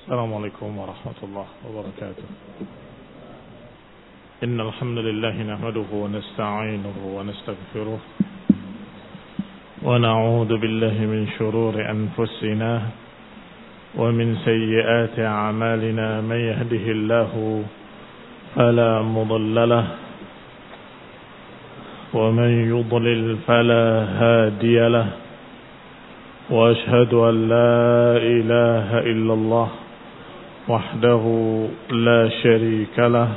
السلام عليكم ورحمة الله وبركاته. إن الحمد لله نحمده ونستعينه ونستغفره ونعوذ بالله من شرور أنفسنا ومن سيئات أعمالنا. من يهده الله فلا مضل له ومن يضلل فلا هادي له، وأشهد أن لا إله إلا الله وحده لا شريك له،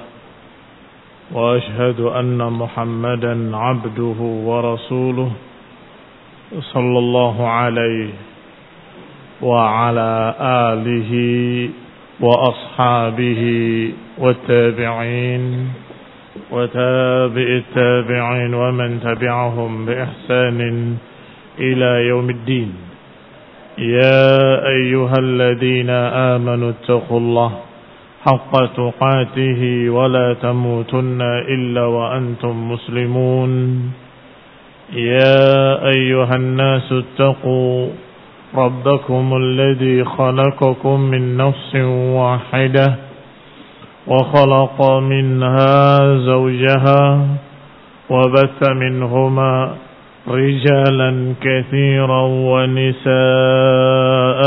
وأشهد أن محمدا عبده ورسوله صلى الله عليه وعلى آله وأصحابه والتابعين وتابع التابعين ومن تبعهم بإحسان إلى يوم الدين. يا أيها الذين آمنوا اتقوا الله حق تقاته ولا تموتن إلا وأنتم مسلمون. يا أيها الناس اتقوا ربكم الذي خلقكم من نفس واحدة وخلق منها زوجها وبث منهما رجالا كثيرا ونساء،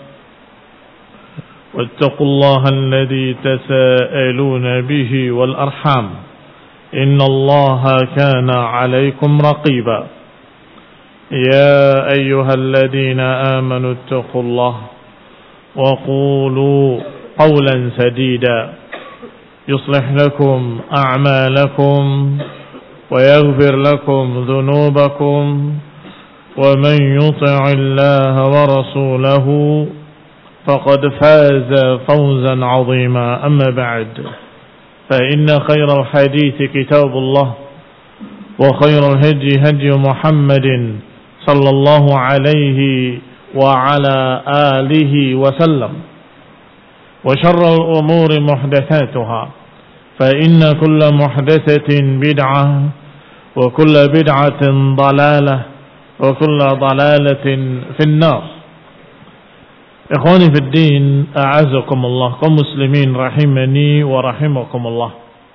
واتقوا الله الذي تساءلون به والأرحام إن الله كان عليكم رقيبا. يا أيها الذين آمنوا اتقوا الله وقولوا قولا سديدا يصلح لكم أعمالكم ويغفر لكم ذنوبكم، ومن يطع الله ورسوله فقد فاز فوزا عظيما. أما بعد، فإن خير الحديث كتاب الله، وخير الهدي هدي محمد صلى الله عليه وعلى آله وسلم، وشر الأمور محدثاتها، فإن كل محدثة بدعة وكل بدعة ضلالة وكل ضلالة في النار. Ikhwani fi din, a'azakumullah, kaum muslimin rahimani wa rahimakumullah.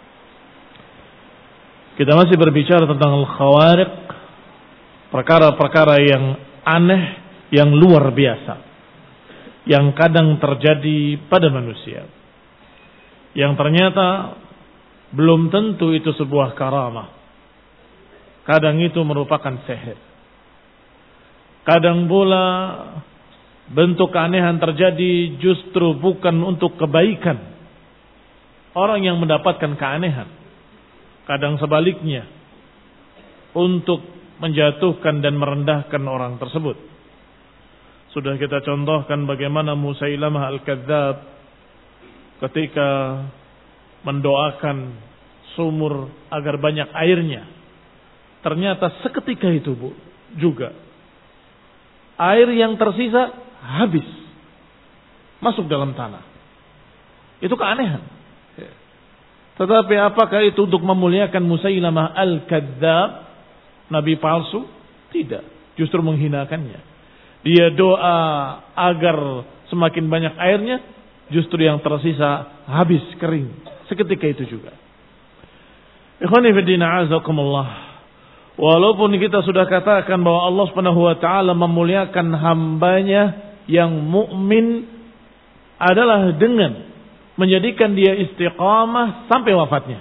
Kita masih berbicara tentang al-khawariq, perkara-perkara yang aneh, yang luar biasa, yang kadang terjadi pada manusia, yang ternyata belum tentu itu sebuah karamah. Kadang itu merupakan sihir. Kadang pula bentuk keanehan terjadi justru bukan untuk kebaikan orang yang mendapatkan keanehan. Kadang sebaliknya, untuk menjatuhkan dan merendahkan orang tersebut. Sudah kita contohkan bagaimana Musailamah al-Kadzdzab ketika mendoakan sumur agar banyak airnya, ternyata seketika itu juga air yang tersisa habis masuk dalam tanah. Itu keanehan. Tetapi apakah itu untuk memuliakan Musailamah al-Kadzdzab, nabi palsu? Tidak, justru menghinakannya. Dia doa agar semakin banyak airnya, justru yang tersisa habis, kering seketika itu juga. Ikhwani fi din, a'azakumullah. Walaupun kita sudah katakan bahwa Allah Subhanahu wa taala memuliakan hambanya yang mukmin adalah dengan menjadikan dia istiqamah sampai wafatnya.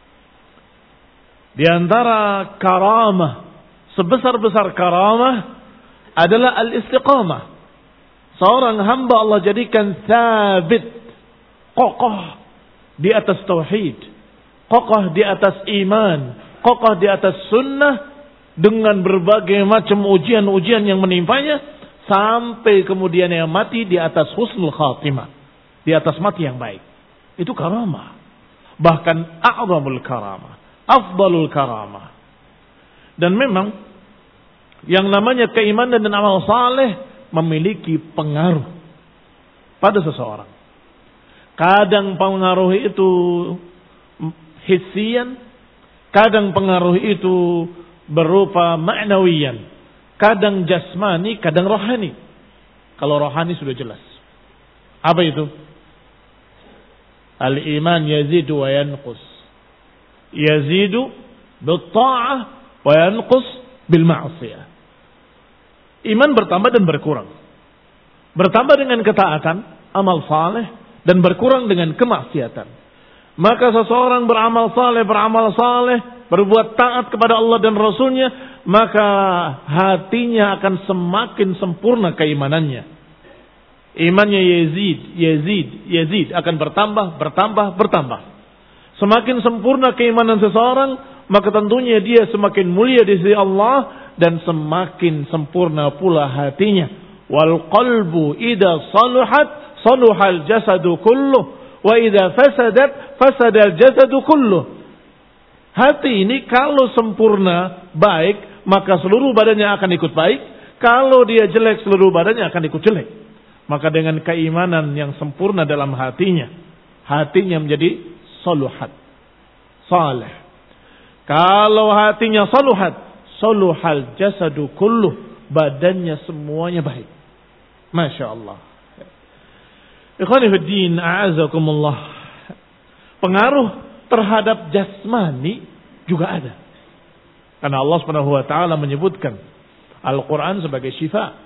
Di antara karamah, sebesar-besar karamah adalah al-istiqamah. Seorang hamba Allah jadikan sabit, kokoh di atas tauhid, kokoh di atas iman, kokoh di atas sunnah, dengan berbagai macam ujian-ujian yang menimpanya, sampai kemudian yang mati di atas husnul khatimah, di atas mati yang baik. Itu karamah. Bahkan a'zamul karamah, afdalul karamah. Dan memang yang namanya keimanan dan amal saleh memiliki pengaruh pada seseorang. Kadang pengaruh itu hissian, kadang pengaruh itu berupa ma'nawiyan, kadang jasmani, kadang rohani. Kalau rohani sudah jelas. Apa itu? Al-iman yazidu wa yanqus. Yazidu bil-ta'ah wa yanqus bil-ma'siyah. Iman bertambah dan berkurang. Bertambah dengan ketaatan, amal saleh, dan berkurang dengan kemaksiatan. Maka seseorang beramal saleh, berbuat taat kepada Allah dan Rasulnya, maka hatinya akan semakin sempurna keimanannya. Imannya Yazid akan bertambah. Semakin sempurna keimanan seseorang, maka tentunya dia semakin mulia di sisi Allah dan semakin sempurna pula hatinya. Wal qalbu idza saluhal jasadu kulluh wa idza fasadal jasadu kulluh. Hati ini kalau sempurna baik, maka seluruh badannya akan ikut baik. Kalau dia jelek, seluruh badannya akan ikut jelek. Maka dengan keimanan yang sempurna dalam hatinya menjadi saluhat, saleh. Kalau hatinya saluhal jasadu kulluh, badannya semuanya baik. Masya Allah. Ikhwani fiddin, a'azakumullah. Pengaruh terhadap jasmani juga ada. Karena Allah Subhanahu wa taala menyebutkan Al-Qur'an sebagai syifa.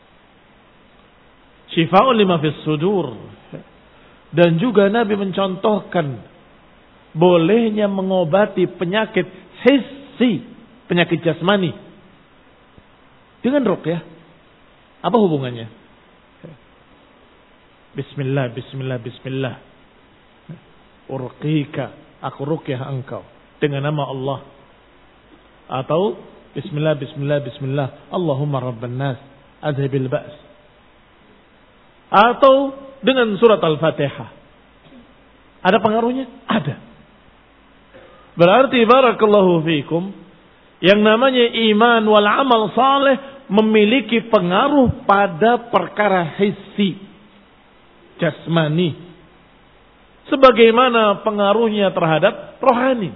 Syifa'un lima fis sudur. Dan juga Nabi mencontohkan bolehnya mengobati penyakit hissi, penyakit jasmani dengan ruqyah. Apa hubungannya? Bismillah. Urqika, aku ruqyah engkau dengan nama Allah. Atau Bismillah. Allahumma rabban nas, adhibil ba's. Atau dengan surat Al-Fatihah. Ada pengaruhnya? Ada. Berarti barakallahu fikum, yang namanya iman wal amal saleh memiliki pengaruh pada perkara hissi, jasmani, sebagaimana pengaruhnya terhadap rohani.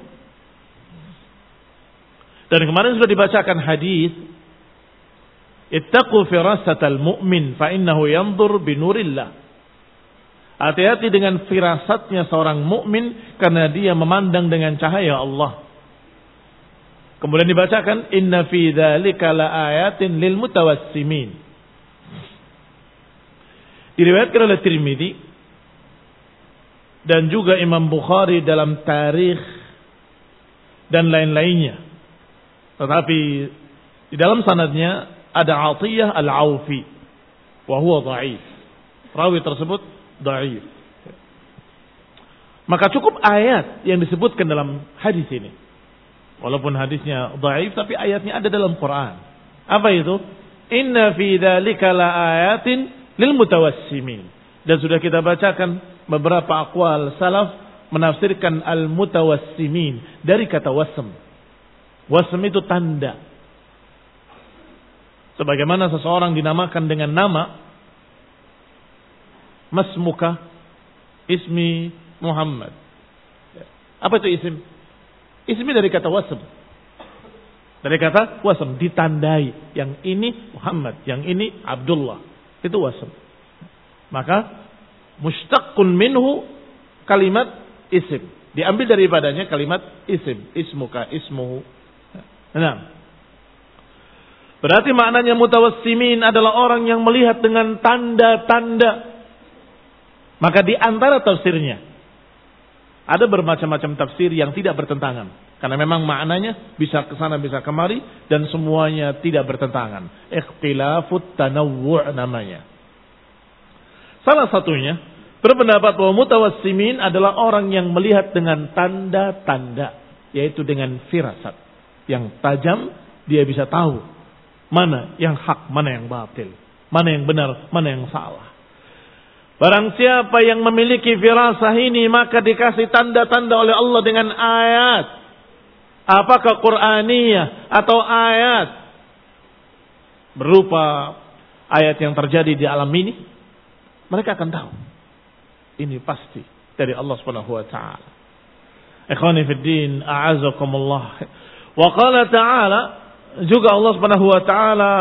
Dan kemarin sudah dibacakan hadis, ittaqu firasatal mu'min fa innahu yanzur binurillah. Hati-hati dengan firasatnya seorang mukmin karena dia memandang dengan cahaya Allah. Kemudian dibacakan inna fi dzalika laayatin lil mutawassimin. Diriwayatkan oleh Tirmidzi dan juga Imam Bukhari dalam tarikh dan lain-lainnya. Tetapi di dalam sanadnya ada Atiyah Al-Aufi wa huwa dhaif. Rawi tersebut dhaif. Maka cukup ayat yang disebutkan dalam hadis ini. Walaupun hadisnya dhaif tapi ayatnya ada dalam Quran. Apa itu? Inna fi dzalika laayatin lil mutawassimin. Dan sudah kita bacakan beberapa aqwal salaf menafsirkan al-mutawassimin dari kata wasm. Wasm itu tanda. Sebagaimana seseorang dinamakan dengan nama Masmuka, ismi Muhammad. Apa itu isim? Ismi dari kata wasm. Dari kata wasm, ditandai. Yang ini Muhammad, yang ini Abdullah. Itu wasm. Maka mushtaqun minhu kalimat isim. Diambil daripadanya kalimat isim. Ismuka, ismuhu. Nah, berarti maknanya mutawassimin adalah orang yang melihat dengan tanda-tanda. Maka di antara tafsirnya ada bermacam-macam tafsir yang tidak bertentangan. Karena memang maknanya bisa ke sana bisa kemari dan semuanya tidak bertentangan. Ikhtilafut tanawwu' namanya. Salah satunya berpendapat bahwa mutawassimin adalah orang yang melihat dengan tanda-tanda, yaitu dengan firasat yang tajam. Dia bisa tahu mana yang hak, mana yang batil, mana yang benar, mana yang salah. Barang siapa yang memiliki firasah ini, maka dikasih tanda-tanda oleh Allah dengan ayat. Apakah Qur'aniyah atau ayat berupa ayat yang terjadi di alam ini, mereka akan tahu. Ini pasti dari Allah Subhanahu wa taala. Ikhwani fid din, a'azakumullah. Wa qala ta'ala, juga Allah Subhanahu wa taala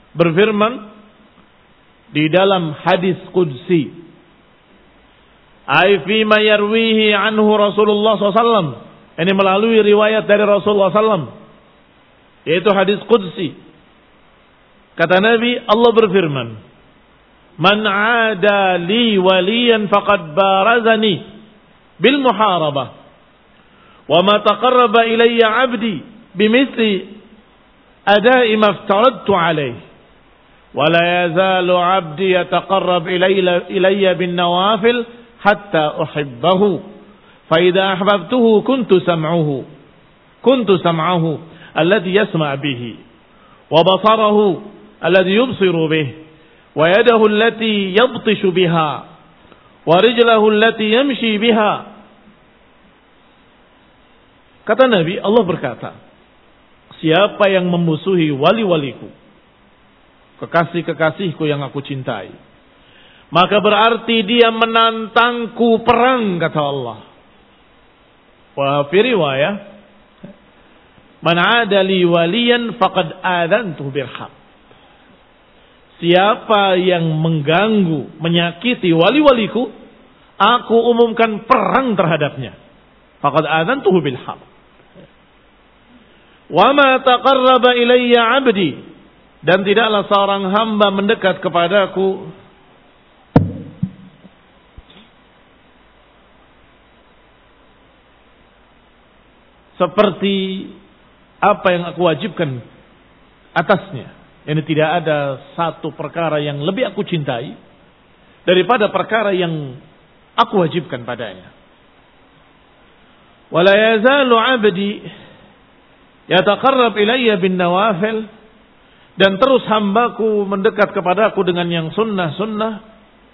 berfirman di dalam hadis qudsi, Ai fi ma yarwihi anhu Rasulullah SAW. Ini melalui riwayat dari Rasulullah SAW. Yaitu hadis qudsi. Kata Nabi, Allah berfirman, Man aada li waliyan faqad barazani bil muharabah. Wa ma taqarraba ilayya 'abdi bimithli ada'i ma aftaradtu alayhi. Wa la yazalu 'abdi yataqarrab ilayya bin nawafil hatta uhibbahu. Fa idza ahbabtuhu kuntu sam'ahu alladhi yasma' bihi wa basarahu alladhi yubsiru bihi wa yadahu allati yabtishu biha wa rijlahu allati yamshi biha. Kata Nabi, Allah berkata, siapa yang memusuhi wali-waliku, kekasih-kekasihku yang aku cintai, maka berarti dia menantangku perang, kata Allah. Wa fi riwayah, Man 'ada li waliyan faqad adantuhu bil haqq. Siapa yang mengganggu, menyakiti wali-waliku, aku umumkan perang terhadapnya. Faqad adantuhu bil haqq. Wa ma taqarraba ilayya 'abdi, dan tidaklah seorang hamba mendekat kepadaku seperti apa yang aku wajibkan atasnya. Ini tidak ada satu perkara yang lebih aku cintai daripada perkara yang aku wajibkan padanya. Wala yazalu 'abdi yataqarrab ilayya bin nawafil, dan terus hambaku mendekat kepadaku dengan yang sunnah-sunnah,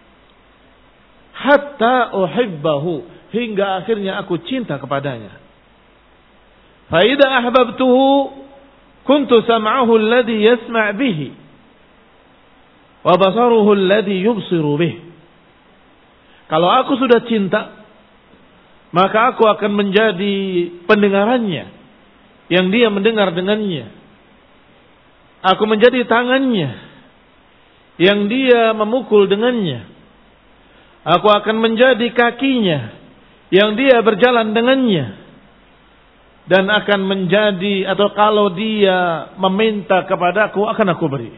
hatta uhibbahu, hingga akhirnya aku cinta kepadanya. Fa idza ahbabtuhu kuntu sam'ahu alladhi yasma' bihi wa basaruhu alladhi yubsiru bihi. Kalau aku sudah cinta, maka aku akan menjadi pendengarannya yang dia mendengar dengannya. Aku menjadi tangannya yang dia memukul dengannya. Aku akan menjadi kakinya yang dia berjalan dengannya. Dan akan menjadi, atau kalau dia meminta kepadaku, akan aku beri.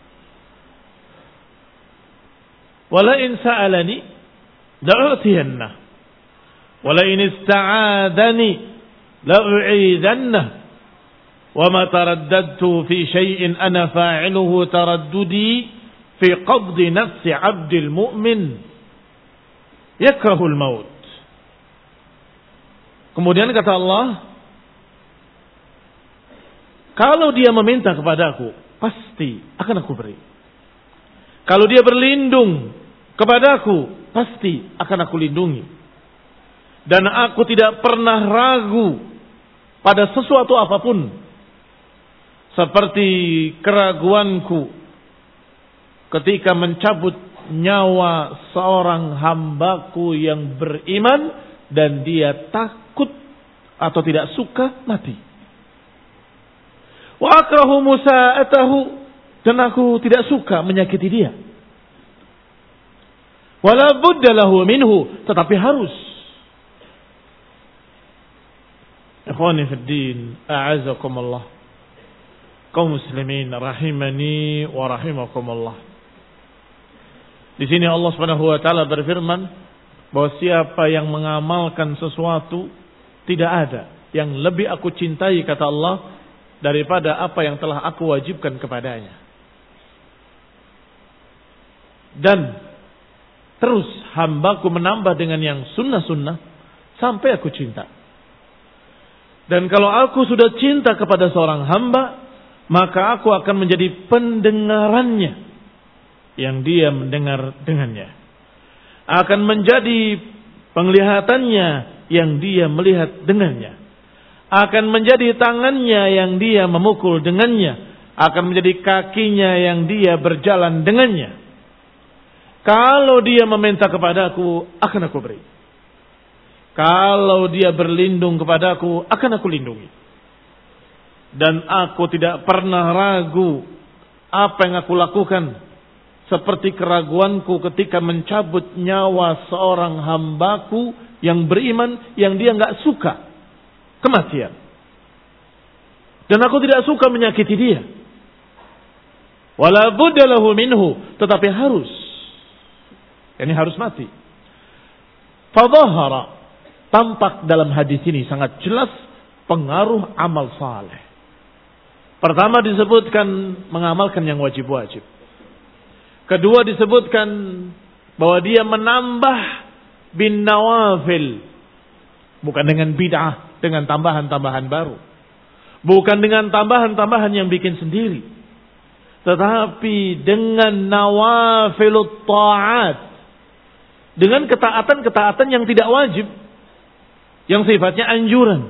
Wala in sa'alani la'utiyannah, wala in ista'adani la'u'idannah, wa ma taraddadtu fi syai'in ana fa'iluhu taraddudi fi qabdi nafsi 'abdil mu'min yakrahul maut. Kemudian kata Allah, kalau dia meminta kepadaku, pasti akan aku beri. Kalau dia berlindung kepadaku, pasti akan aku lindungi. Dan aku tidak pernah ragu pada sesuatu apapun, seperti keraguanku ketika mencabut nyawa seorang hambaku yang beriman dan dia takut atau tidak suka mati. Wa akrahu musa'atahu, dan aku tidak suka menyakiti dia. Wala budda lahu minhu, tetapi harus. Ikhwani fid din, a'azakumullah, kaum muslimin rahimani wa rahimakumullah. Di sini Allah Subhanahu wa taala berfirman bahwa siapa yang mengamalkan sesuatu, tidak ada yang lebih aku cintai, kata Allah, daripada apa yang telah aku wajibkan kepadanya. Dan terus hambaku menambah dengan yang sunnah-sunnah sampai aku cinta. Dan kalau aku sudah cinta kepada seorang hamba, maka aku akan menjadi pendengarannya yang dia mendengar dengannya. Akan menjadi penglihatannya yang dia melihat dengannya. Akan menjadi tangannya yang dia memukul dengannya. Akan menjadi kakinya yang dia berjalan dengannya. Kalau dia meminta kepadaku, akan aku beri. Kalau dia berlindung kepadaku, akan aku lindungi. Dan aku tidak pernah ragu apa yang aku lakukan seperti keraguanku ketika mencabut nyawa seorang hambaku yang beriman yang dia nggak suka kematian. Dan aku tidak suka menyakiti dia. Wala budda lahu minhu, tetapi harus. Yani harus mati. Fadhahara, tampak dalam hadis ini sangat jelas pengaruh amal saleh. Pertama disebutkan mengamalkan yang wajib-wajib. Kedua disebutkan bahwa dia menambah bin nawafil. Bukan dengan bid'ah, dengan tambahan-tambahan baru. Bukan dengan tambahan-tambahan yang bikin sendiri. Tetapi dengan nawafilut ta'at. Dengan ketaatan-ketaatan yang tidak wajib. Yang sifatnya anjuran.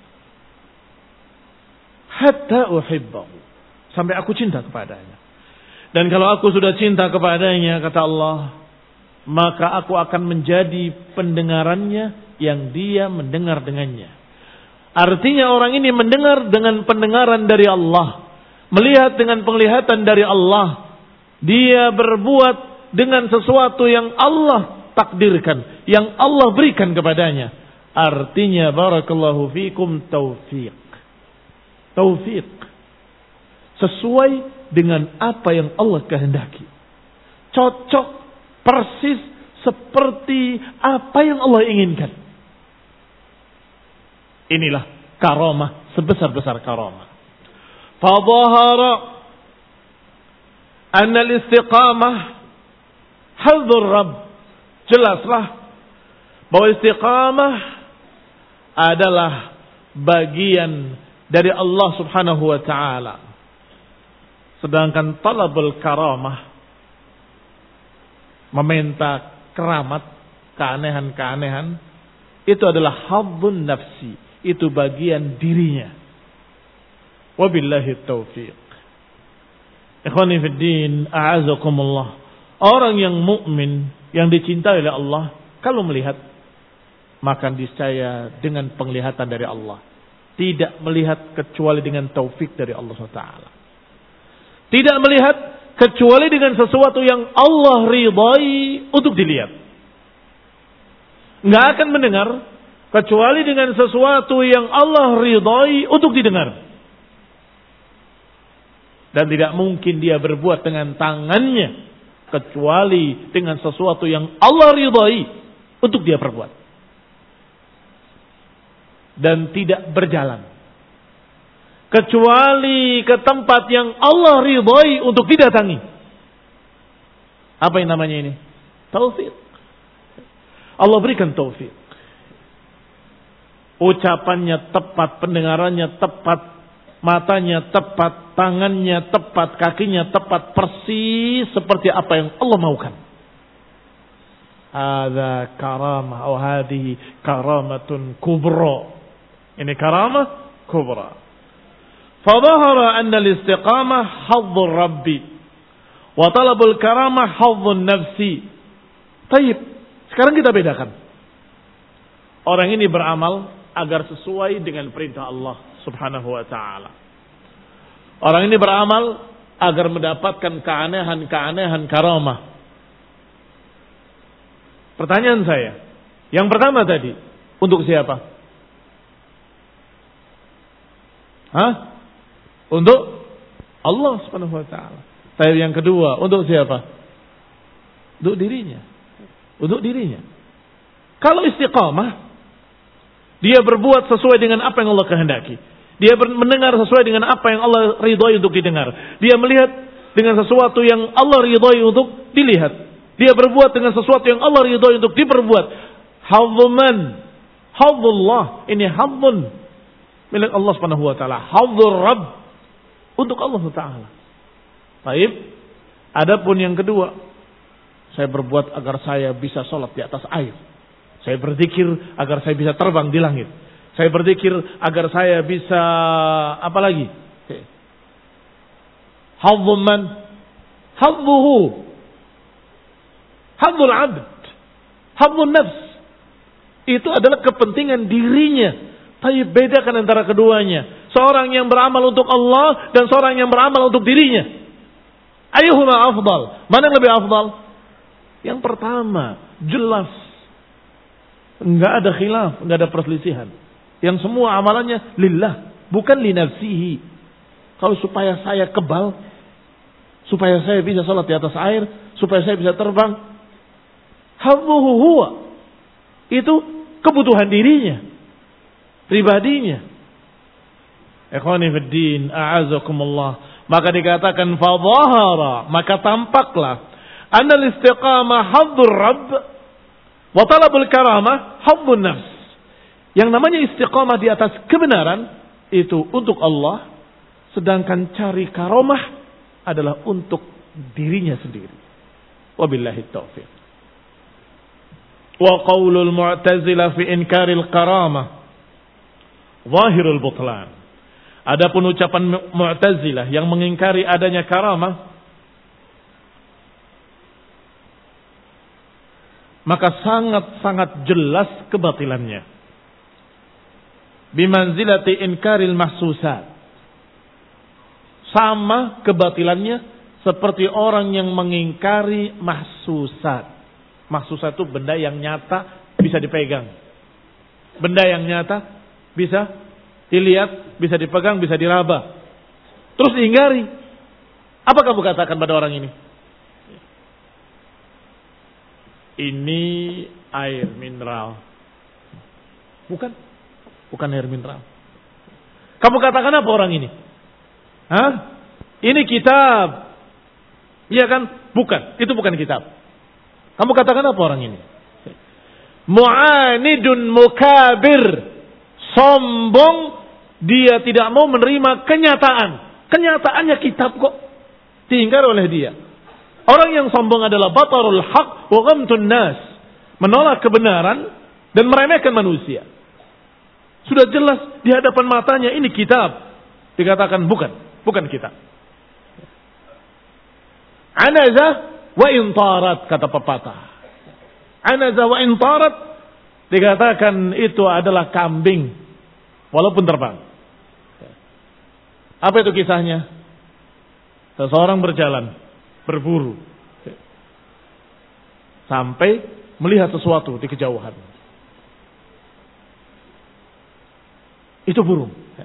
Hatta uhibbahu. Sampai aku cinta kepadanya. Dan kalau aku sudah cinta kepadanya, kata Allah, maka aku akan menjadi pendengarannya yang dia mendengar dengannya. Artinya orang ini mendengar dengan pendengaran dari Allah. Melihat dengan penglihatan dari Allah. Dia berbuat dengan sesuatu yang Allah takdirkan. Yang Allah berikan kepadanya. Artinya barakallahu fikum taufiq. Taufiq. Sesuai dengan apa yang Allah kehendaki. Cocok persis seperti apa yang Allah inginkan. Inilah karamah sebesar-besar karamah. Fadhahara anna al-istiqamah hadzur Rabb. Jelaslah bahwa istiqamah adalah bagian dari Allah Subhanahu wa taala. Sedangkan talabul karamah, meminta keramat, keanehan-keanehan, itu adalah haddun nafsi. Itu bagian dirinya. Wabillahi taufiq. Ikhwani fid din, a'azakumullah. Orang yang mukmin, yang dicintai oleh Allah, kalau melihat, maka discaya dengan penglihatan dari Allah. Tidak melihat kecuali dengan taufik dari Allah SWT. Tidak melihat kecuali dengan sesuatu yang Allah ridai untuk dilihat. Nggak akan mendengar kecuali dengan sesuatu yang Allah ridai untuk didengar. Dan tidak mungkin dia berbuat dengan tangannya kecuali dengan sesuatu yang Allah ridai untuk dia perbuat. Dan tidak berjalan kecuali ke tempat yang Allah ridai untuk didatangi. Apa yang namanya ini? Taufik. Allah berikan taufik. Ucapannya tepat, pendengarannya tepat, matanya tepat, tangannya tepat, kakinya tepat, persis seperti apa yang Allah maukan. Hadza karamah atau hadhihi karamatun kubra. Ini karamah kubra. Fadhahara anna al-istiqamah hadzur Rabbi wa talabul karamah hadzun nafsi. Baik, sekarang kita bedakan. Orang ini beramal agar sesuai dengan perintah Allah Subhanahu wa taala. Orang ini beramal agar mendapatkan keanehan-keanehan karamah. Pertanyaan saya, yang pertama tadi, untuk siapa? Untuk Allah Subhanahu wa taala. Tapi yang kedua, untuk siapa? Untuk dirinya. Untuk dirinya. Kalau istiqamah, dia berbuat sesuai dengan apa yang Allah kehendaki. Dia mendengar sesuai dengan apa yang Allah ridhoi untuk didengar. Dia melihat dengan sesuatu yang Allah ridhoi untuk dilihat. Dia berbuat dengan sesuatu yang Allah ridhoi untuk diperbuat. Hadzuman, hadzullah, ini hadzun milik Allah Subhanahu wa taala. Hadzur Rabb untuk Allah taala. Baik. Adapun yang kedua, saya berbuat agar saya bisa sholat di atas air. Saya berzikir agar saya bisa terbang di langit. Saya berzikir agar saya bisa apa lagi? Hadzum man? Hadzuhu. Hadzul abd. Hadzun nafs. Itu adalah kepentingan dirinya. Tapi bedakan antara keduanya. Seorang yang beramal untuk Allah dan seorang yang beramal untuk dirinya. Ayyuhuma afdal? Mana yang lebih afdal? Yang pertama, jelas. Enggak ada khilaf, enggak ada perselisihan. Yang semua amalannya lillah, bukan li nafsihi. Kalau supaya saya kebal, supaya saya bisa salat di atas air, supaya saya bisa terbang, hadzuhu huwa. Itu kebutuhan dirinya, pribadinya. Ikhwani fid din, a'azakumullah. Maka dikatakan fadhahara, maka tampaklah annal istiqamah hadzur rabb wa talabul karamah hadzun nafs. Yang namanya istiqamah di atas kebenaran itu untuk Allah, sedangkan cari karamah adalah untuk dirinya sendiri. Wabillahi taufiq. Wa qaulul mu'tazilah fi inkaril karamah zahirul butlan. Adapun ucapan Mu'tazilah yang mengingkari adanya karamah, maka sangat-sangat jelas kebatilannya. Bimanzilati inkaril mahsusat. Sama kebatilannya seperti orang yang mengingkari mahsusat. Mahsusat itu benda yang nyata bisa dipegang. Benda yang nyata bisa dilihat, bisa dipegang, bisa diraba. Terus diingkari. Apa kamu katakan pada orang ini? Ini air mineral. Bukan air mineral. Kamu katakan apa orang ini? Hah? Ini kitab. Iya kan? Bukan. Itu bukan kitab. Kamu katakan apa orang ini? Mu'anidun mukabir. Sombong. Dia tidak mau menerima kenyataan. Kenyataannya kitab kok. Diingkar oleh dia. Orang yang sombong adalah batarul haq wa ghamtun nas. Menolak kebenaran dan meremehkan manusia. Sudah jelas di hadapan matanya ini kitab. Dikatakan bukan kitab. Anazah wa intarat, kata pepatah. Anazah wa intarat, dikatakan itu adalah kambing walaupun terbang. Apa itu kisahnya? Seseorang berjalan, berburu, sampai melihat sesuatu di kejauhan. Itu burung.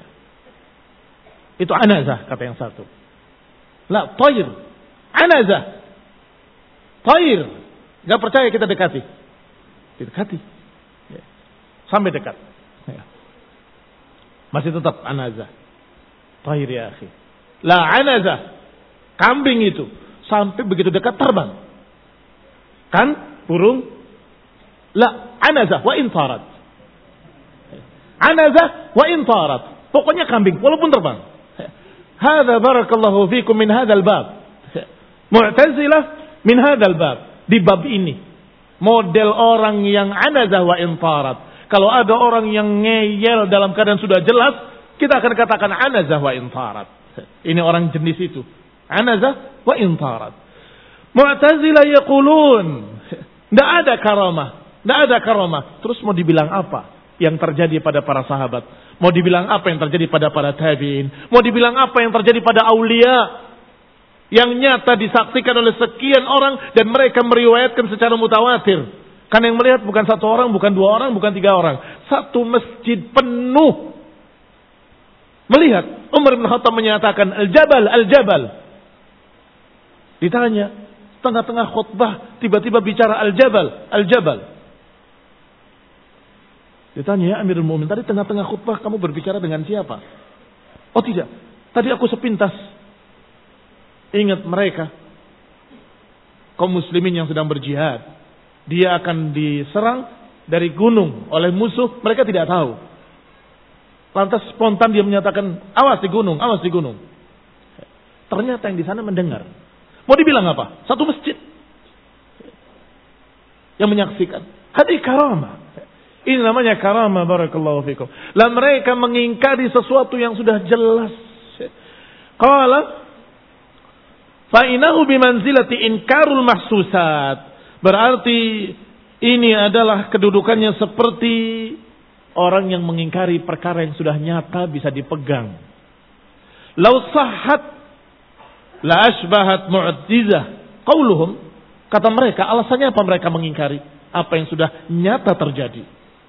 Itu anazah, kata yang satu. La, tayr. Anazah. Tayr. Gak percaya kita dekati. Didekati. Sampai dekat. Masih tetap anazah. Tayr ya akhi. La anazah. Kambing itu. Sampai begitu dekat terbang. Kan? Burung. La anazah wa intarat. Anazah wa intarat. Pokoknya kambing walaupun terbang. Hadza barakallahu fikum min hadzal bab. Mu'tazilah min hadzal bab. Di bab ini. Model orang yang anazah wa intarat. Kalau ada orang yang ngeyel dalam keadaan sudah jelas, kita akan katakan anazah wa intarat. Ini orang jenis itu. Anazah wa intarat. Mu'tazilah yaqulun, tidak ada karamah. Tidak ada karamah. Terus mau dibilang apa yang terjadi pada para sahabat? Mau dibilang apa yang terjadi pada para tabi'in? Mau dibilang apa yang terjadi pada aulia? Yang nyata disaksikan oleh sekian orang dan mereka meriwayatkan secara mutawatir. Kan yang melihat bukan satu orang, bukan dua orang, bukan tiga orang. Satu masjid penuh melihat. Umar bin Khattab menyatakan al-jabal, al-jabal. Ditanya, tengah-tengah khutbah tiba-tiba bicara al-jabal, al-jabal. Ditanya, ya Amirul Mu'minin, tadi tengah-tengah khutbah kamu berbicara dengan siapa? Oh tidak, tadi aku sepintas ingat mereka, kaum muslimin yang sedang berjihad. Dia akan diserang dari gunung oleh musuh, mereka tidak tahu. Lantas spontan dia menyatakan, awas di gunung, awas di gunung. Ternyata yang di sana mendengar. Mau dibilang apa? Satu masjid yang menyaksikan. Hadi karamah. Ini namanya karamah, barakallahu fikum. Lah mereka mengingkari sesuatu yang sudah jelas. Qala fa inahu bimanzilati inkarul mahsusat. Berarti ini adalah kedudukannya seperti orang yang mengingkari perkara yang sudah nyata bisa dipegang. Lau la asbahat mu'jizah qauluhum, kata mereka, alasannya apa mereka mengingkari apa yang sudah nyata terjadi?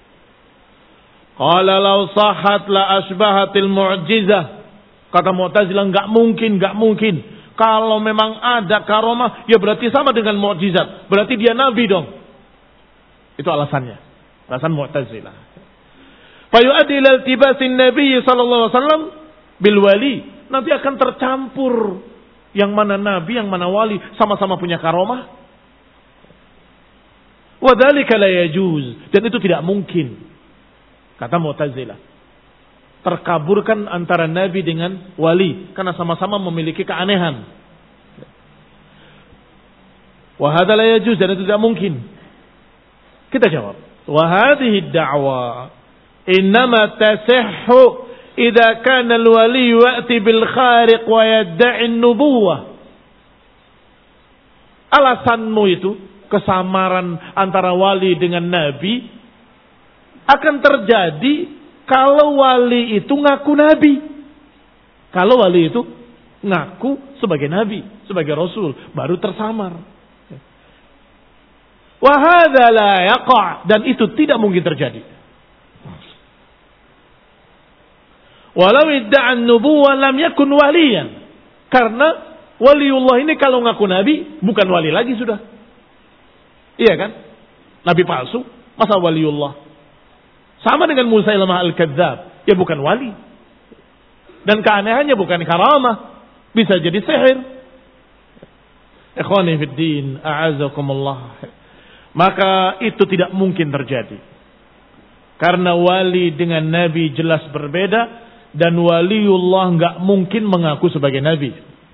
Qala law sahhat la asbahatil mu'jizah, kata Mu'tazilah, enggak mungkin. Kalau memang ada karomah, ya berarti sama dengan mukjizat, berarti dia nabi dong. Itu alasannya, alasan Mu'tazilah. Fa yu'addi ila iltibasin nabi sallallahu alaihi wasallam bil wali, nanti akan tercampur yang mana nabi, yang mana wali, sama-sama punya karomah. Wa dzalika la yajuz, dan itu tidak mungkin. Kata Mu'tazilah, terkaburkan antara nabi dengan wali karena sama-sama memiliki keanehan. Wa hadza la yajuz, dan itu tidak mungkin. Kita jawab, wa hadhihi ad-da'wa innama tasihhu idza kana al-wali ya'ti bil khariq wa yad'i an-nubuwah. Alasanmu itu, kesamaran antara wali dengan nabi, akan terjadi kalau wali itu ngaku nabi. Kalau wali itu ngaku sebagai nabi, sebagai rasul, baru tersamar. Wa hadza la yaqa', dan itu tidak mungkin terjadi. Walau idda'a an-nubuwah lam yakun waliyan. Karena waliullah ini kalau ngaku nabi bukan wali lagi sudah. Iya kan? Nabi palsu, masa waliullah? Sama dengan Musailamah al-Kadzdzab, ya bukan wali. Dan keanehannya bukan karamah, bisa jadi sihir. Ikhwani fid din, a'azakumullah. Maka itu tidak mungkin terjadi. Karena wali dengan nabi jelas berbeda, dan waliullah enggak mungkin mengaku sebagai nabi.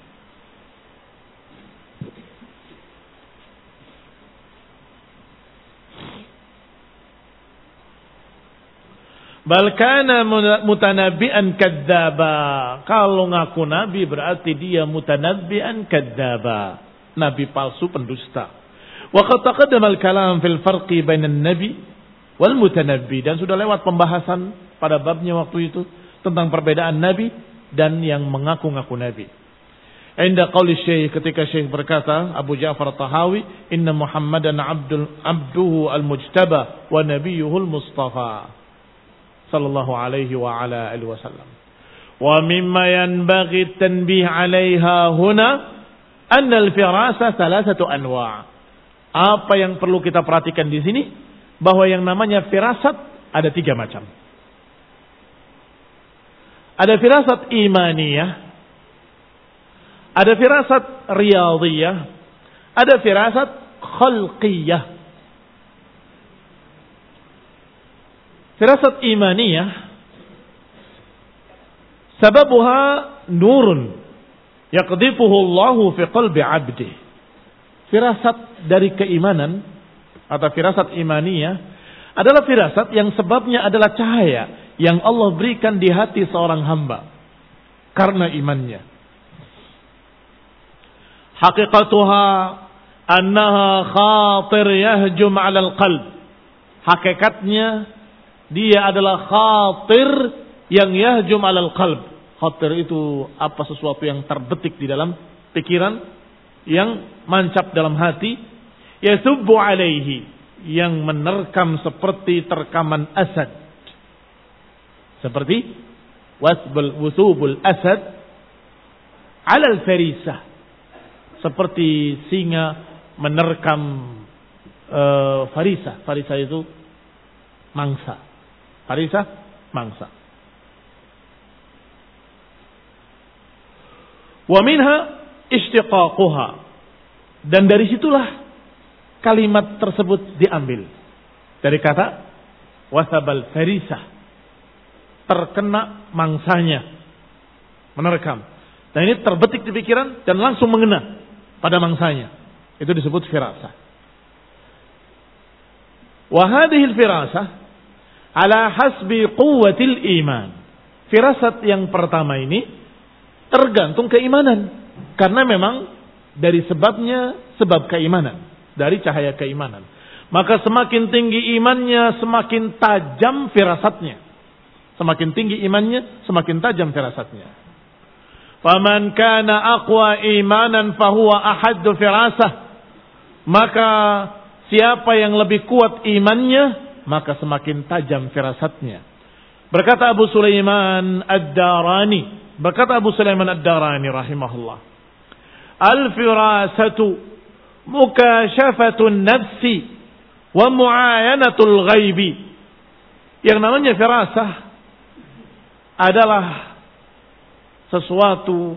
Bal kana mutanabbi'an kadzdzaba. Kalau ngaku nabi berarti dia mutanabbi'an kadzdzaba. Nabi palsu, pendusta. Wa qad taqaddama al-kalam fil farqi bainan nabi wal mutanabbi, dan sudah lewat pembahasan pada babnya waktu itu tentang perbedaan nabi dan yang mengaku-ngaku nabi. Inda qauli Syekh, ketika Syekh berkata, Abu Ja'far Tahawi, inna Muhammadan abduhu al-mujtaba wa nabiyyuhul mustafa sallallahu alaihi wa ala alihi wasallam. Wa mimma yanbaghi at-tanbih 'alaiha huna anna al-firasa thalathatu anwa'. Apa yang perlu kita perhatikan di sini, bahwa yang namanya firasat ada 3 macam. Ada firasat imaniyah, ada firasat riyadhiyah, ada firasat khalqiyah. Firasat imaniyah sababuha nurun yaqdhifuhu Allahu fi qalbi 'abdihi. Firasat dari keimanan atau firasat imaniyah adalah firasat yang sebabnya adalah cahaya yang Allah berikan di hati seorang hamba karena imannya. Haqiqatuha annaha khatir yahjum 'alal qalb. Hakikatnya dia adalah khatir yang yahjum 'alal qalb. Khatir itu apa, sesuatu yang terbetik di dalam pikiran, yang mancap dalam hati, yasubbu alaihi, yang menerkam seperti terkaman asad, seperti wusubul asad alal farisah, seperti singa menerkam farisa itu mangsa, mangsa. Wa minha istiqaquha, dan dari situlah kalimat tersebut diambil dari kata wasabal farisah, terkena mangsanya, menerkam. Dan ini terbetik di pikiran dan langsung mengena pada mangsanya. Itu disebut firasah. Wa hadhihi al-firasah ala hasbi quwwatil iman. Firasat yang pertama ini tergantung keimanan. Karena memang dari sebabnya, sebab keimanan, dari cahaya keimanan. Maka semakin tinggi imannya, semakin tajam firasatnya. Semakin tinggi imannya, semakin tajam firasatnya. Faman kana aqwa imanan fahuwa ahaddu firasah. Maka siapa yang lebih kuat imannya, maka semakin tajam firasatnya. Berkata Abu Sulaiman Ad-Darani, rahimahullah, al-firasatu mukashafatun nafsi wa muayanatul ghaibi. Yang namanya firasah adalah sesuatu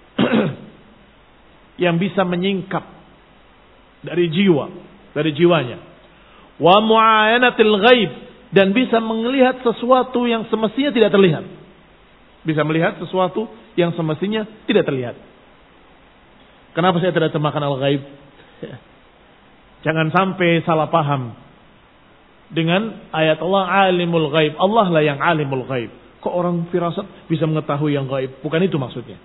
yang bisa menyingkap dari jiwanya. Wa muayanatul ghaib, dan bisa melihat sesuatu yang semestinya tidak terlihat. Bisa melihat sesuatu yang semestinya tidak terlihat. Kenapa saya tidak terjemahkan al-ghaib? Jangan sampai salah paham dengan ayat Allah alimul ghaib. Allah lah yang alimul ghaib. Kok orang firasat bisa mengetahui yang ghaib? Bukan itu maksudnya.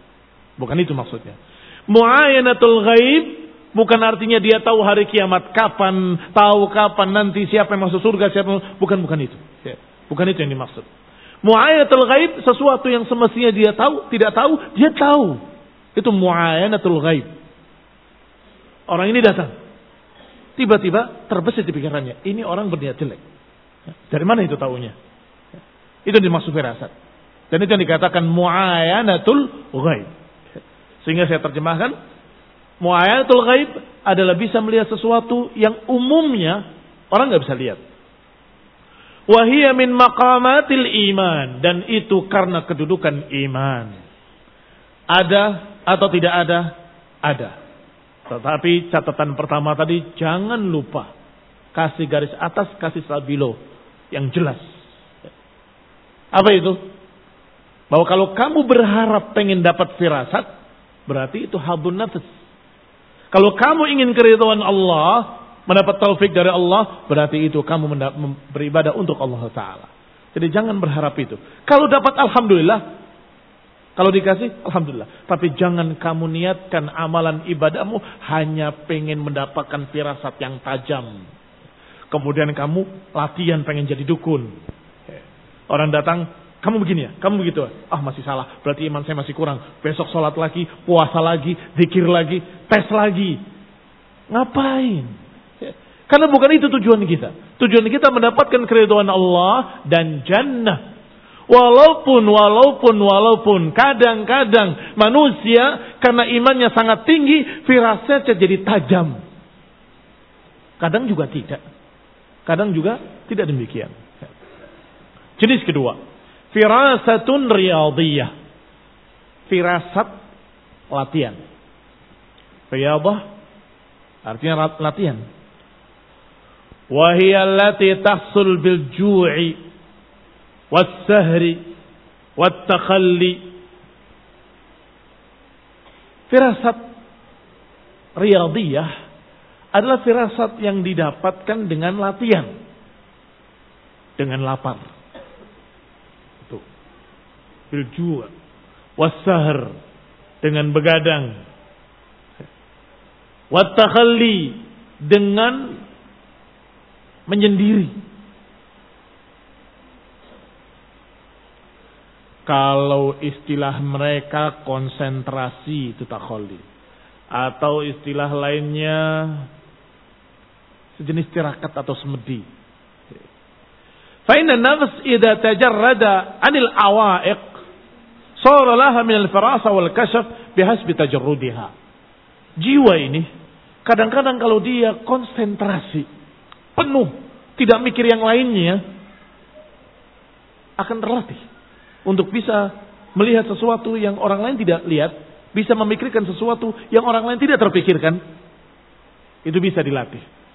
Muayanatul ghaib bukan artinya dia tahu hari kiamat kapan, tahu kapan nanti siapa yang masuk surga, bukan itu. Bukan itu yang dimaksud. Muayanatul ghaib sesuatu yang semestinya dia tahu, tidak tahu, dia tahu. Itu muayanatul ghaib. Orang ini datang, tiba-tiba terbesit di pikirannya, ini orang berniat jelek. Dari mana itu taunya? Itu dimaksud firasat. Dan itu yang dikatakan muayanatul ghaib. Sehingga saya terjemahkan, muayanatul ghaib adalah bisa melihat sesuatu yang umumnya orang nggak bisa lihat. Wahia min maqamatil iman, dan itu karena kedudukan iman. Ada atau tidak ada? Ada. Tetapi catatan pertama tadi jangan lupa kasih garis atas, kasih stabilo yang jelas. Apa itu? Bahwa kalau kamu berharap pengen dapat firasat, berarti itu hadun nafs. Kalau kamu ingin keridhaan Allah, mendapat taufik dari Allah, berarti itu kamu beribadah untuk Allah Ta'ala. Jadi jangan berharap itu. Kalau dapat alhamdulillah, kalau dikasih alhamdulillah. Tapi jangan kamu niatkan amalan ibadahmu hanya pengen mendapatkan firasat yang tajam. Kemudian kamu latihan pengen jadi dukun. Orang datang, kamu begini ya, kamu begitu. Masih salah, berarti iman saya masih kurang. Besok sholat lagi, puasa lagi, zikir lagi, tes lagi. Ngapain? Karena bukan itu tujuan kita. Tujuan kita mendapatkan keridhaan Allah dan jannah. Walaupun kadang-kadang manusia karena imannya sangat tinggi, firasatnya jadi tajam. Kadang juga tidak. Kadang juga tidak demikian. Jenis kedua, firasatun riyadiyah. Firasat latihan. Riyadah artinya latihan. Wahiyya allati tahsul bil ju'i was-sahri wat-takhalli. Firasat riyadiyah adalah firasat yang didapatkan dengan latihan. Dengan lapar. Itu. Bil ju' was-sahr, dengan begadang. Wat-takhalli, dengan menyendiri. Kalau istilah mereka konsentrasi, itu takhalli. Atau istilah lainnya sejenis tirakat atau semedi. Fa inna an-nafs idza tajarrada 'anil awa'iq sara laha min al-firasa wal kashf bihasbi tajarrudiha. Jiwa ini kadang-kadang kalau dia konsentrasi penuh, tidak mikir yang lainnya, akan terlatih untuk bisa melihat sesuatu yang orang lain tidak lihat, bisa memikirkan sesuatu yang orang lain tidak terpikirkan. Itu bisa dilatih.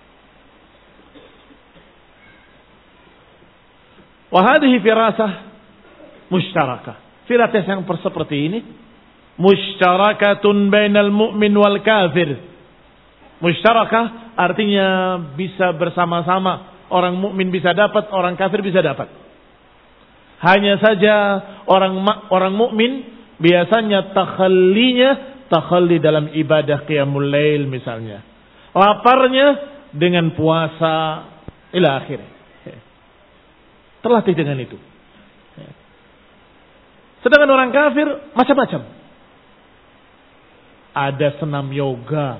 Wa hadhihi firasah mushtarakah. Firasah yang seperti ini mushtarakatun bainal mu'min wal kafir. Mushtarakah artinya bisa bersama-sama. Orang mukmin bisa dapat, orang kafir bisa dapat. Hanya saja orang mukmin biasanya takhalli dalam ibadah qiyamul lail misalnya. Laparnya dengan puasa ila akhirnya. Terlatih dengan itu. Sedangkan orang kafir macam-macam. Ada senam yoga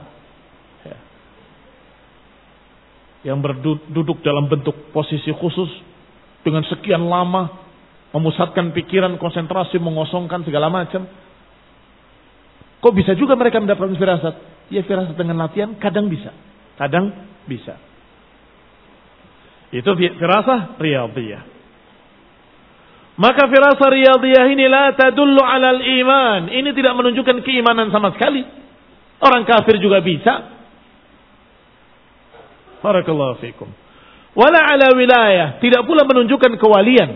yang berduduk dalam bentuk posisi khusus dengan sekian lama, memusatkan pikiran, konsentrasi, mengosongkan segala macam. Kok bisa juga mereka mendapatkan firasat? Ya firasat dengan latihan kadang bisa, kadang bisa. Itu firasah riyadhiyah. Maka firasah riyadhiyah ini la tadullu alal iman. Ini tidak menunjukkan keimanan sama sekali. Orang kafir juga bisa. Barakallahu fikum. Wala ala wilayah. Tidak pula menunjukkan kewalian.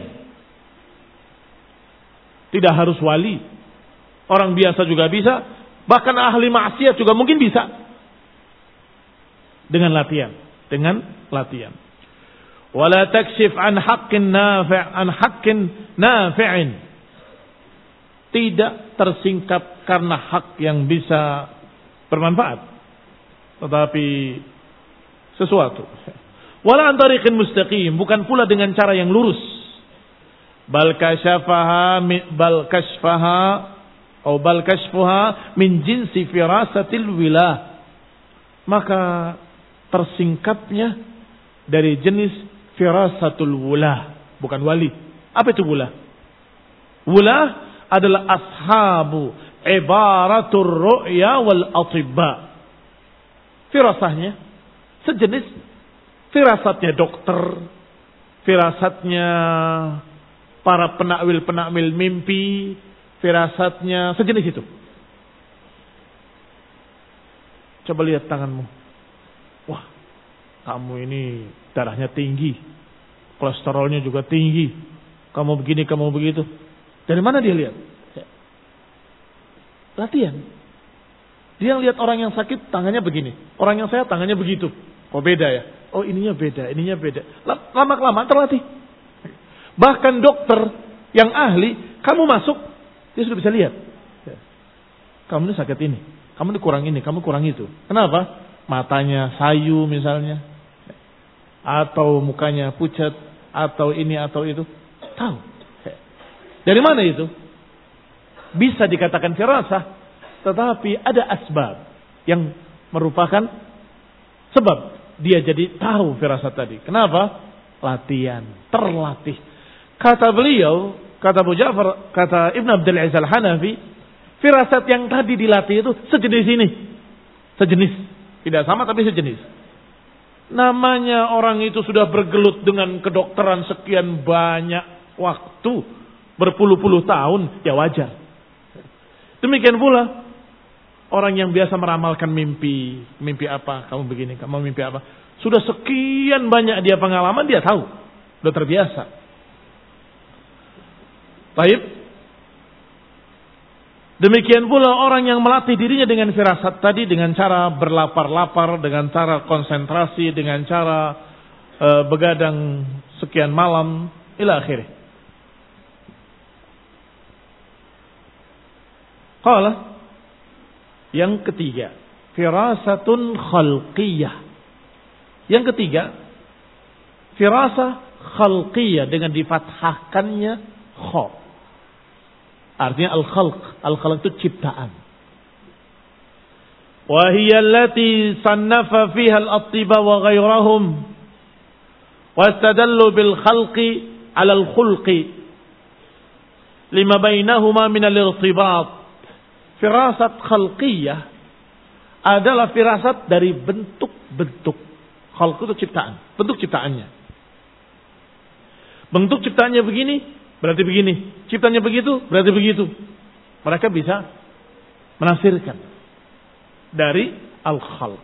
Tidak harus wali. Orang biasa juga bisa. Bahkan ahli maksiat juga mungkin bisa. Dengan latihan. Dengan latihan. Wala takshif an haqqin nafi'in. Tidak tersingkap karena hak yang bisa bermanfaat, tetapi sesuatu. Wala an tariqin mustaqim, bukan pula dengan cara yang lurus. Bal kashfaha min jinsi firasatil wilah. Maka tersingkapnya dari jenis firasatul wulah, bukan wali. Apa itu wulah? Wulah adalah ashabu ibaratur ru'ya wal atibba. Firasahnya sejenis firasatnya dokter, firasatnya para penakwil-penakwil mimpi, firasatnya sejenis itu. Coba lihat tanganmu. Wah, kamu ini darahnya tinggi, kolesterolnya juga tinggi, kamu begini, kamu begitu. Dari mana dia lihat? Latihan. Dia lihat orang yang sakit tangannya begini, orang yang sehat tangannya begitu. Oh beda ya? Oh ininya beda, ininya beda. Lama-kelamaan terlatih. Bahkan dokter yang ahli, kamu masuk, dia sudah bisa lihat. Kamu ini sakit ini, kamu ini kurang itu. Kenapa? Matanya sayu misalnya. Atau mukanya pucat, atau ini atau itu, tahu. Dari mana itu? Bisa dikatakan firasah, tetapi ada asbab yang merupakan sebab dia jadi tahu firasat tadi. Kenapa? Latihan, terlatih. Kata beliau, kata Abu Ja'far, kata Ibn Abdul Aziz Al-Hanafi, firasat yang tadi dilatih itu sejenis ini. Sejenis, tidak sama tapi sejenis. Namanya orang itu sudah bergelut dengan kedokteran sekian banyak waktu, berpuluh-puluh tahun, ya wajar. Demikian pula orang yang biasa meramalkan mimpi. Mimpi apa? Kamu begini, kamu mimpi apa? Sudah sekian banyak dia pengalaman, dia tahu. Sudah terbiasa. Baik. Demikian pula orang yang melatih dirinya dengan firasat tadi, dengan cara berlapar-lapar, dengan cara konsentrasi, dengan cara begadang sekian malam, ila akhirih. Qala, yang ketiga, firasatun khalqiyah. Yang ketiga, firasah khalqiyah dengan difathahkannya kha. Artinya al-khalq. Al-khalq itu ciptaan. Wa hiya allati sannafa fiha al-attiba wa ghayrahum. Wa istadallu bil khalqi 'ala al-khulqi. Lima bainahuma min al-irtibat. Firasat khalqiyah adalah firasat dari bentuk-bentuk. Khalq itu ciptaan. Bentuk ciptaannya. Bentuk ciptaannya begini, berarti begini. Ciptanya begitu, berarti begitu. Mereka bisa menafsirkan dari al-khalq.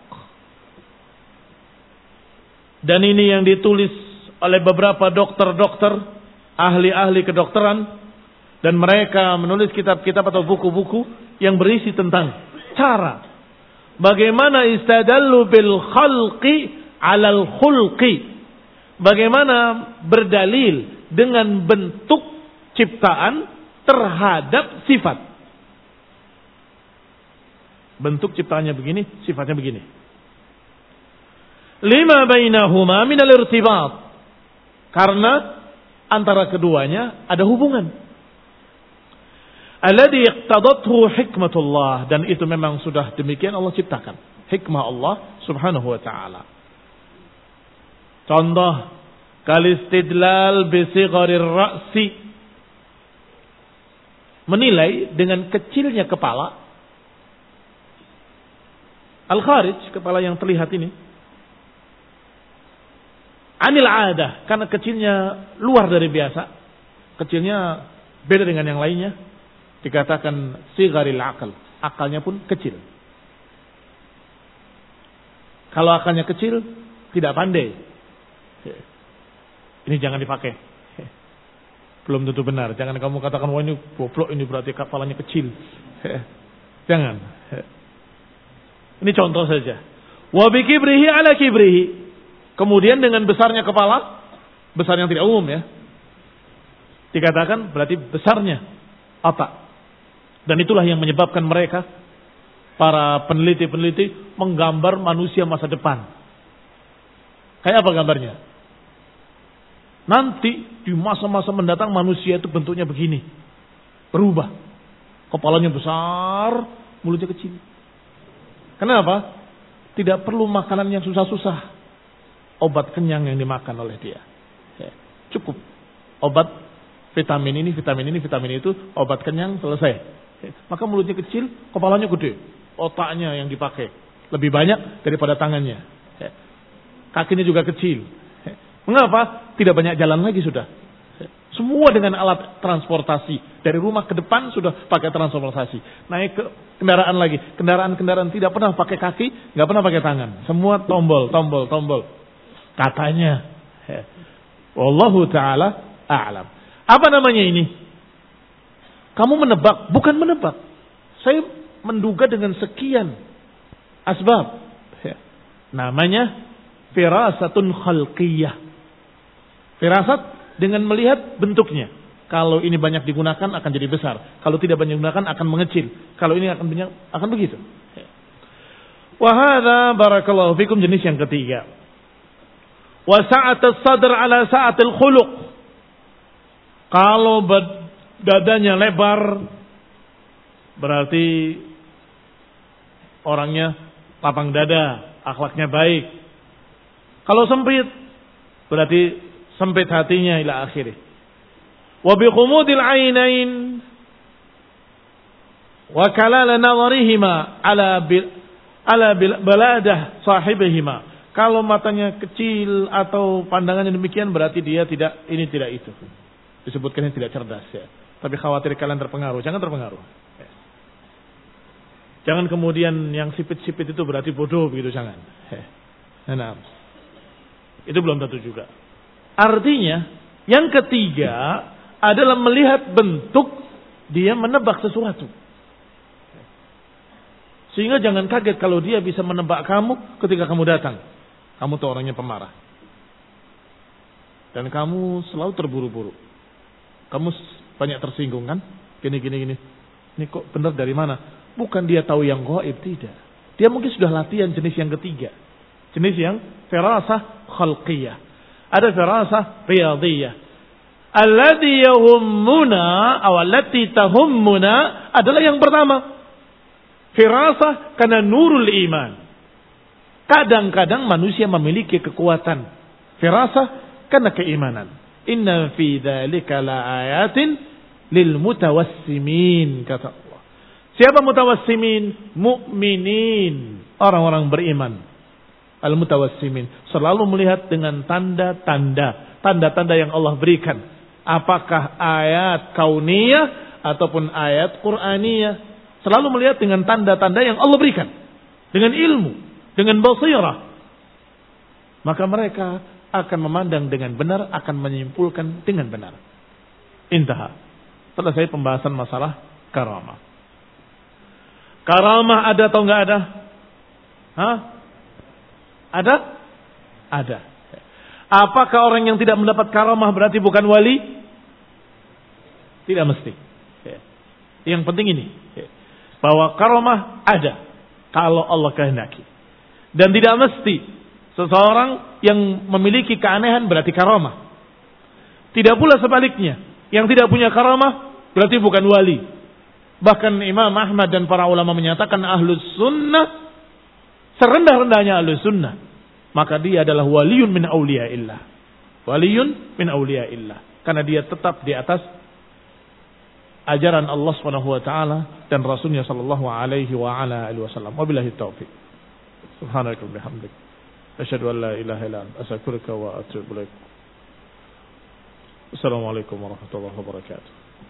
Dan ini yang ditulis oleh beberapa dokter-dokter, ahli-ahli kedokteran. Dan mereka menulis kitab-kitab atau buku-buku yang berisi tentang cara bagaimana istadallu bil khalqi 'alal khulqi. Bagaimana berdalil dengan bentuk ciptaan terhadap sifat. Bentuk ciptaannya begini, sifatnya begini. Lima bainahuma minal irtibat. Karena antara keduanya ada hubungan. alladhi iqtadathu hikmatullah, dan itu memang sudah demikian Allah ciptakan. Hikmah Allah Subhanahu wa taala. Contoh, kalistidlal bi sigharir ra'si, menilai dengan kecilnya kepala, al-kharij, kepala yang terlihat ini, anil adah, karena kecilnya luar dari biasa, kecilnya beda dengan yang lainnya, dikatakan sigharil akal, akalnya pun kecil. Kalau akalnya kecil, tidak pandai, ini jangan dipakai. Belum tentu benar. Jangan kamu katakan, wah ini goblok, ini berarti kepalanya kecil. Jangan. Ini contoh saja. Wa bi kibrihi ala kibrihi. Kemudian dengan besarnya kepala, besar yang tidak umum ya, dikatakan berarti besarnya otak. Dan itulah yang menyebabkan mereka, para peneliti-peneliti, menggambar manusia masa depan. Kayak apa gambarnya? Nanti di masa-masa mendatang manusia itu bentuknya begini. Berubah. Kepalanya besar, mulutnya kecil. Kenapa? Tidak perlu makanan yang susah-susah. Obat kenyang yang dimakan oleh dia. Cukup. Obat vitamin ini, vitamin ini, vitamin itu, obat kenyang, selesai. Maka mulutnya kecil, kepalanya gede. Otaknya yang dipakai lebih banyak daripada tangannya. Kakinya juga kecil. Mengapa? Tidak banyak jalan lagi sudah. Semua dengan alat transportasi. Dari rumah ke depan sudah pakai transportasi. Naik ke kendaraan lagi. Kendaraan-kendaraan tidak pernah pakai kaki, nggak pernah pakai tangan. Semua tombol, tombol, tombol. Katanya. Wallahu ta'ala a'lam. Apa namanya ini? Kamu menebak. Bukan menebak. Saya menduga dengan sekian asbab. Namanya firasatun khalqiyah. Firasat dengan melihat bentuknya. Kalau ini banyak digunakan akan jadi besar. Kalau tidak banyak digunakan akan mengecil. Kalau ini akan banyak, akan begitu. Wa hadza barakallahu fikum, jenis yang ketiga. Wa sa'atus sadr ala sa'atil khuluq. Kalau dadanya lebar, berarti orangnya lapang dada, akhlaknya baik. Kalau sempit, berarti sempit hatinya ila akhirih. Wa bi khumudil ainain wa kalala nadharihima ala baladah sahibihima. Kalau matanya kecil atau pandangannya demikian, berarti dia tidak itu. Disebutkannya tidak cerdas ya. Tapi khawatir kalian terpengaruh. Jangan terpengaruh. Jangan kemudian yang sipit-sipit itu berarti bodoh begitu, jangan. Nah, itu belum tentu juga. Artinya, yang ketiga adalah melihat bentuk, dia menebak sesuatu. Sehingga jangan kaget kalau dia bisa menebak kamu ketika kamu datang. Kamu tuh orangnya pemarah. Dan kamu selalu terburu-buru. Kamu banyak tersinggung kan? Gini. Ini kok benar dari mana? Bukan dia tahu yang gaib, tidak. Dia mungkin sudah latihan jenis yang ketiga. Jenis yang firasah khalqiyah. Ada firasah riyadiyah. Alladhi yahummuna aw allati tahummuna adalah yang pertama. Firasah karena nurul iman. Kadang-kadang manusia memiliki kekuatan firasah karena keimanan. Inna fi dzalika laayatin lil mutawassimin, kata Allah. Siapa mutawassimin? Mukminin, orang-orang beriman. Al-mutawassimin, selalu melihat dengan tanda-tanda yang Allah berikan. Apakah ayat kauniyah ataupun ayat Qur'aniyah, selalu melihat dengan tanda-tanda yang Allah berikan. Dengan ilmu, dengan basirah. Maka mereka akan memandang dengan benar, akan menyimpulkan dengan benar. Intaha. Selesai pembahasan masalah karamah. Karamah ada atau enggak ada? Hah? Ada? Ada. Apakah orang yang tidak mendapat karamah berarti bukan wali? Tidak mesti. Yang penting ini, bahwa karamah ada kalau Allah kehendaki. Dan tidak mesti seseorang yang memiliki keanehan berarti karamah. Tidak pula sebaliknya, yang tidak punya karamah berarti bukan wali. Bahkan Imam Ahmad dan para ulama menyatakan ahlus sunnah, serendah-rendahnya ahlus sunnah, maka dia adalah waliyun min awliyaillah. Waliyun min awliyaillah. Karena dia tetap di atas ajaran Allah Subhanahu wa taala dan Rasulnya sallallahu alaihi wa ala alihi wasallam. Wabillahi taufik. Subhanaka wa bihamdik. Asyhadu an la ilaha illa anta astaghfiruka wa atubu ilaik. Assalamualaikum warahmatullahi wabarakatuh.